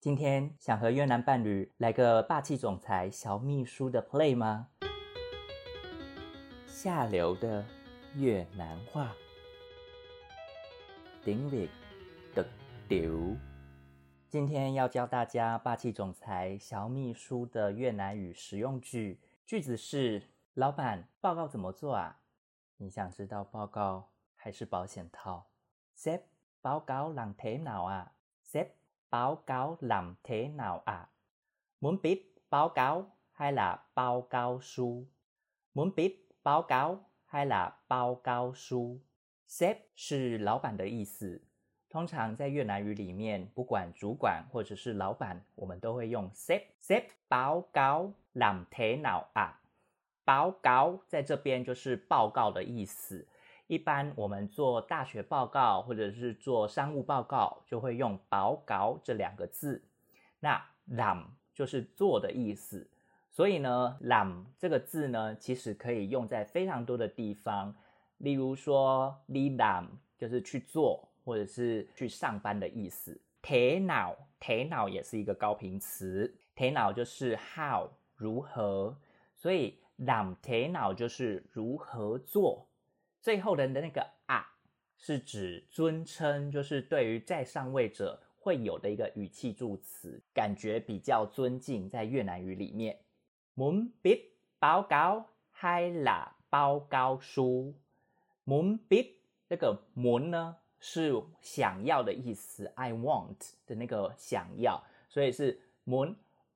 今天想和越南伴侣来个霸气总裁小秘书的 play 吗？下流的越南话，tiếng Việt cực tiểu。今天要教大家霸气总裁小秘书的越南语实用句，句子是：老板，报告怎么做啊？你想知道报告还是保险套？ Sếp, báo cáo làm thế nào à? Sếp, báo cáo làm thế nào à? Muốn biết báo cáo hay là báo cáo书？ Muốn biết báo cáo hay là báo cáo书？ Sếp 是老板的意思，通常在越南语里面，不管主管或者是老板，我们都会用 sếp。 Sếp báo cáo làm thế nào à？ báo cáo在这边就是报告的意思，一般我们做大学报告或者是做商务报告就会用báo cáo这两个字。那 làm 就是做的意思，所以呢 làm 这个字呢其实可以用在非常多的地方，例如说 đi làm 就是去做或者是去上班的意思。thế nào 也是一个高频词， thế nào 就是 how 如何，所以 làm thế nào 就是如何做。最后的那个啊是指尊称，就是对于在上位者会有的一个语气助词，感觉比较尊敬，在越南语里面。Muốn biết báo cáo hay là báo cáo书？ Muốn biết 这个 muốn 呢是想要的意思， I want 的那个想要，所以是 muốn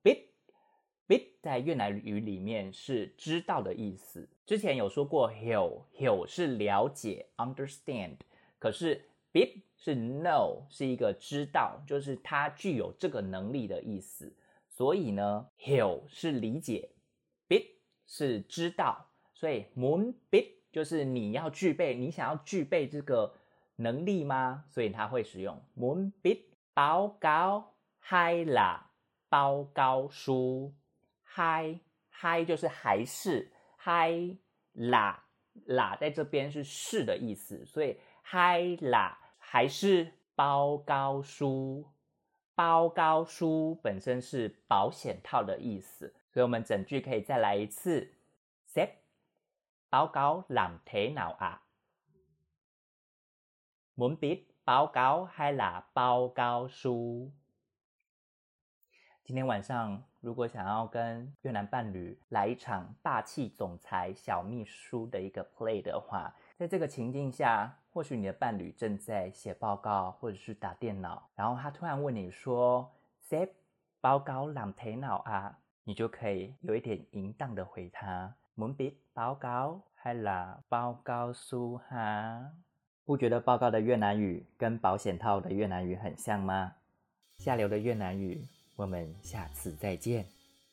biết。Biết 在越南语里面是知道的意思。之前有说过 hiểu 是了解 understand， 可是 biết 是 know， 是一个知道，就是它具有这个能力的意思。所以呢 hiểu 是理解， biết 是知道，所以 muốn biết 就是你想要具备这个能力吗？所以它会使用 muốn biết báo cáo hay là báo cáo书。还就是还是，还啦在这边是的意思，所以还啦还是báo cáo书。báo cáo书本身是保险套的意思，所以我们整句可以再来一次。Sếp, báo cáo làm thế nào à? Muốn biết báo cáo hay là báo cáo书？今天晚上如果想要跟越南伴侣来一场霸气总裁小秘书的一个 play 的话，在这个情境下，或许你的伴侣正在写报告或者是打电脑，然后他突然问你说 Sếp, báo cáo làm thế nào à？ 你就可以有一点淫荡的回他 Muốn biết báo cáo hay là báo cáo书哈？不觉得报告的越南语跟保险套的越南语很像吗？下流的越南语，我们下次再见。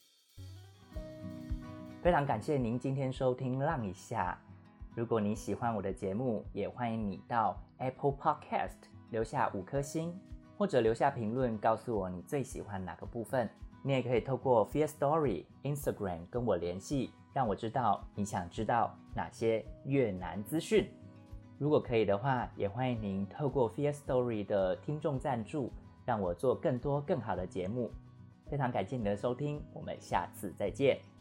非常感谢您今天收听浪一下。如果你喜欢我的节目，也欢迎你到 Apple Podcast 留下5颗星，或者留下评论告诉我你最喜欢哪个部分。你也可以透过 Firstory、Instagram 跟我联系，让我知道你想知道哪些越南资讯。如果可以的话，也欢迎您透过 Firstory 的听众赞助，让我做更多更好的节目。非常感谢你的收听，我们下次再见。